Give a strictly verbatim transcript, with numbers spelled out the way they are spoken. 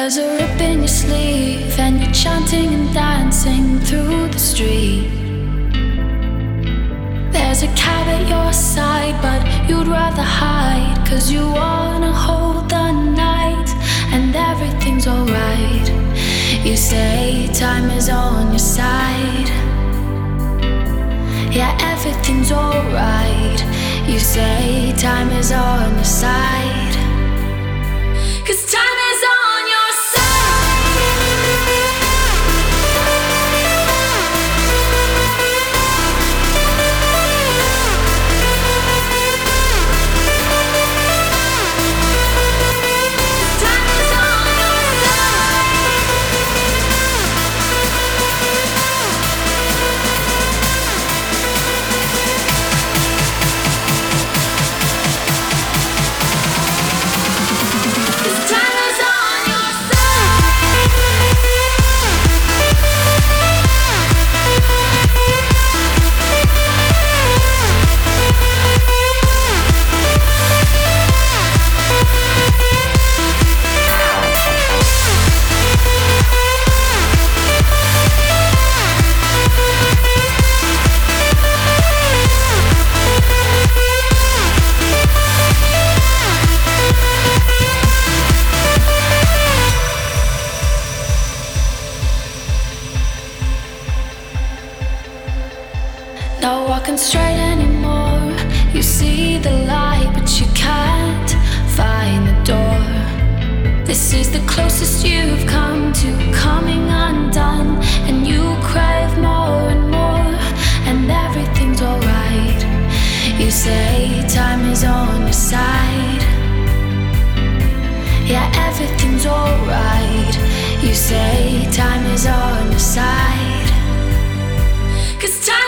There's a rip in your sleeve and you're chanting and dancing through the street. There's a cab at your side but you'd rather hide, 'cause you wanna hold the night and everything's alright. You say time is on your side. Yeah, everything's alright. You say time is on your side. 'Cause time is on your not walking straight anymore. You see the light, but you can't find the door. This is the closest you've come to coming undone, and you crave more and more, and everything's alright. You say time is on your side. Yeah, everything's alright. You say time is on your side. 'Cause time